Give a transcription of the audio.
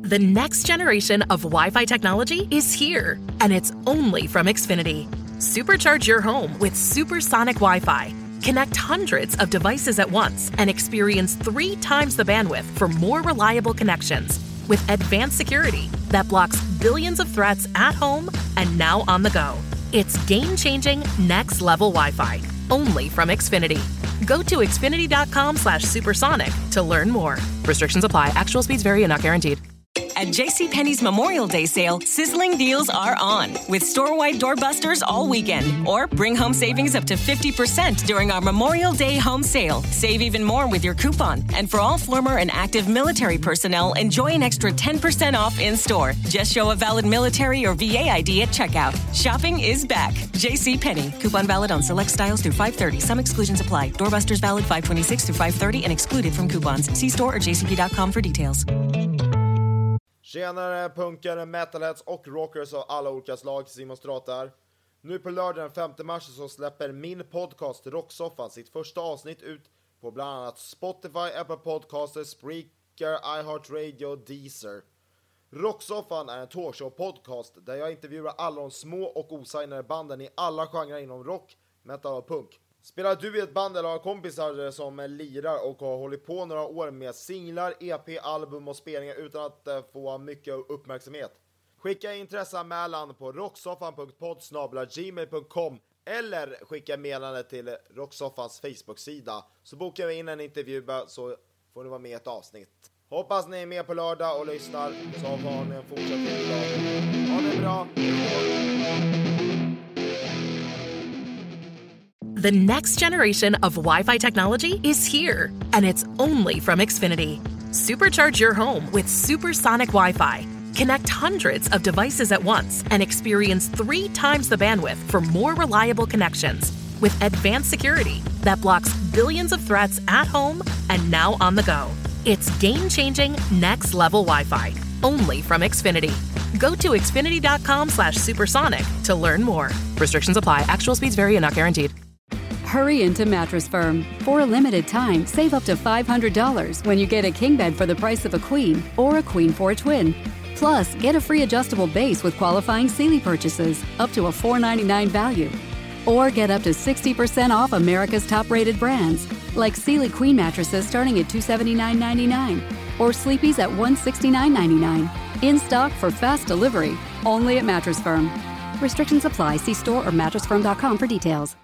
The next generation of Wi-Fi technology is here, and it's only from Xfinity. Supercharge your home with supersonic Wi-Fi. Connect hundreds of devices at once and experience 3 times the bandwidth for more reliable connections. With advanced security that blocks billions of threats at home and now on the go. It's game-changing, next-level Wi-Fi, only from Xfinity. Go to xfinity.com/supersonic to learn more. Restrictions apply. Actual speeds vary and not guaranteed. At JCPenney's Memorial Day sale, sizzling deals are on, with store-wide doorbusters all weekend. Or bring home savings up to 50% during our Memorial Day home sale. Save even more with your coupon. And for all former and active military personnel, enjoy an extra 10% off in-store. Just show a valid military or VA ID at checkout. Shopping is back. JCPenney. Coupon valid on select styles through 5/30. Some exclusions apply. Doorbusters valid 5/26 through 5/30 and excluded from coupons. See store or jcp.com for details. Tjenare punkare, metalheads och rockers av alla olika slag, Simon Stratar. Nu på lördag den 5 mars så släpper min podcast Rocksoffan sitt första avsnitt ut på bland annat Spotify, Apple Podcaster, Spreaker, iHeartRadio, Deezer. Rocksoffan är en talkshow-podcast där jag intervjuar alla de små och osignade banden i alla genrer inom rock, metal och punk. Spelar du i ett band eller har kompisar som lirar och har hållit på några år med singlar, EP, album och spelningar utan att få mycket uppmärksamhet? Skicka intresseanmälan på rocksoffan.podd@gmail.com eller skicka meddelande till Rocksoffans Facebook-sida, så bokar vi in en intervju så får ni vara med i ett avsnitt. Hoppas ni är med på lördag och lyssnar, så har ni en fortsatt god dag. Ha det bra! The next generation of Wi-Fi technology is here, and it's only from Xfinity. Supercharge your home with supersonic Wi-Fi. Connect hundreds of devices at once and experience 3 times the bandwidth for more reliable connections. With advanced security that blocks billions of threats at home and now on the go. It's game-changing, next-level Wi-Fi, only from Xfinity. Go to xfinity.com/supersonic to learn more. Restrictions apply. Actual speeds vary and not guaranteed. Hurry into Mattress Firm. For a limited time, save up to $500 when you get a king bed for the price of a queen or a queen for a twin. Plus, get a free adjustable base with qualifying Sealy purchases, up to a $499 value. Or get up to 60% off America's top-rated brands, like Sealy Queen mattresses starting at $279.99 or Sleepy's at $169.99. In stock for fast delivery, only at Mattress Firm. Restrictions apply. See store or mattressfirm.com for details.